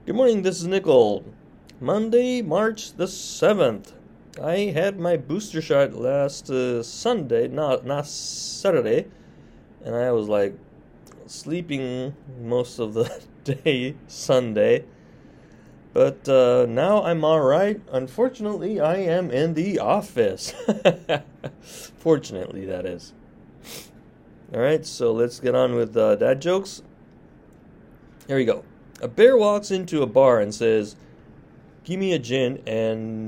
Good morning, this is Nickel. Monday, March the 7th. I had my booster shot last Sunday, not Saturday, and I was like sleeping most of the day Sunday. But now I'm alright. Unfortunately, I am in the office. Fortunately, that is. Alright, so let's get on with dad jokes. Here we go. A bear walks into a bar and says, "Give me a gin and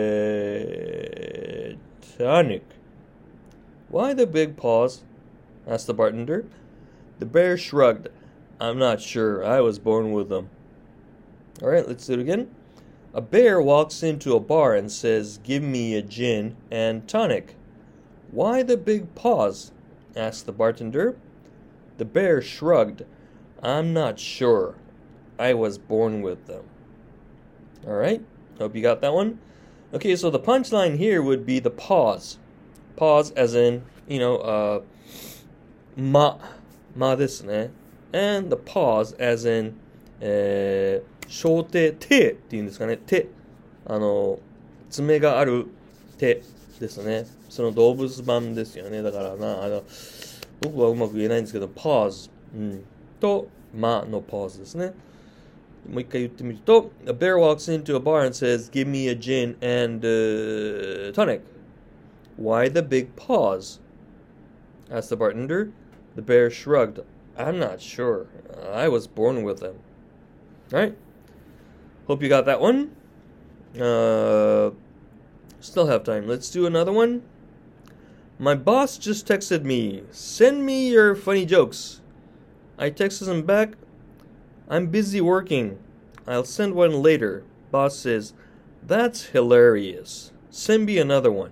tonic." "Why the big pause?" asked the bartender. The bear shrugged. "I'm not sure. I was born with them." Alright, let's do it again. A bear walks into a bar and says, "Give me a gin and tonic." "Why the big pause?" asked the bartender. The bear shrugged. "I'm not sure. I was born with them." Alright, hope you got that one. Okay, so the punchline here would be the pause. Pause as in, ma ですね。And the pause as in, 小手、手っていうんですかね。手。爪がある手ですね。その動物版ですよね。だから僕はうまく言えないんですけど、pause、と、まの pause ですね。もう一回言ってみると、A bear walks into a bar and says, "Give me a gin and tonic." "Why the big pause?" asked the bartender. The bear shrugged. "I'm not sure. I was born with them." Alright. Hope you got that one. Still have time. Let's do another one. My boss just texted me, "Send me your funny jokes." I texted him back, "I'm busy working. I'll send one later." Boss says, "That's hilarious. Send me another one."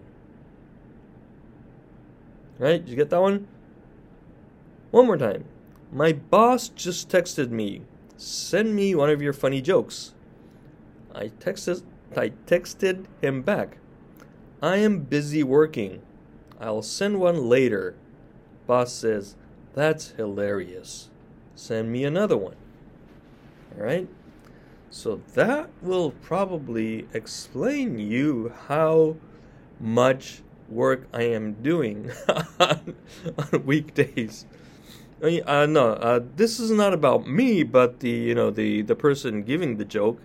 Right? Did you get that one? One more time. My boss just texted me, "Send me one of your funny jokes." I texted him back, "I am busy working. I'll send one later." Boss says, "That's hilarious. Send me another one." Alright? So that will probably explain you how much work I am doing on weekdays. This is not about me, but the person giving the joke.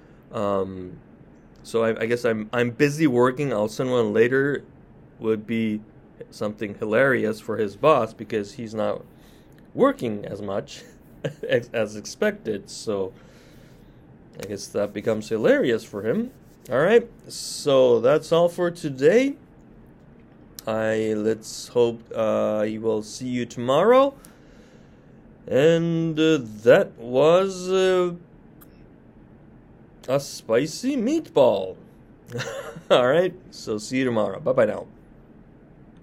So I guess I'm busy working. I'll send one later would be something hilarious for his boss because he's not working as much as expected. So I guess that becomes hilarious for him. Alright, so that's all for today. Let's hope I will see you tomorrow. And that was a spicy meatball. Alright, so see you tomorrow. Bye-bye now.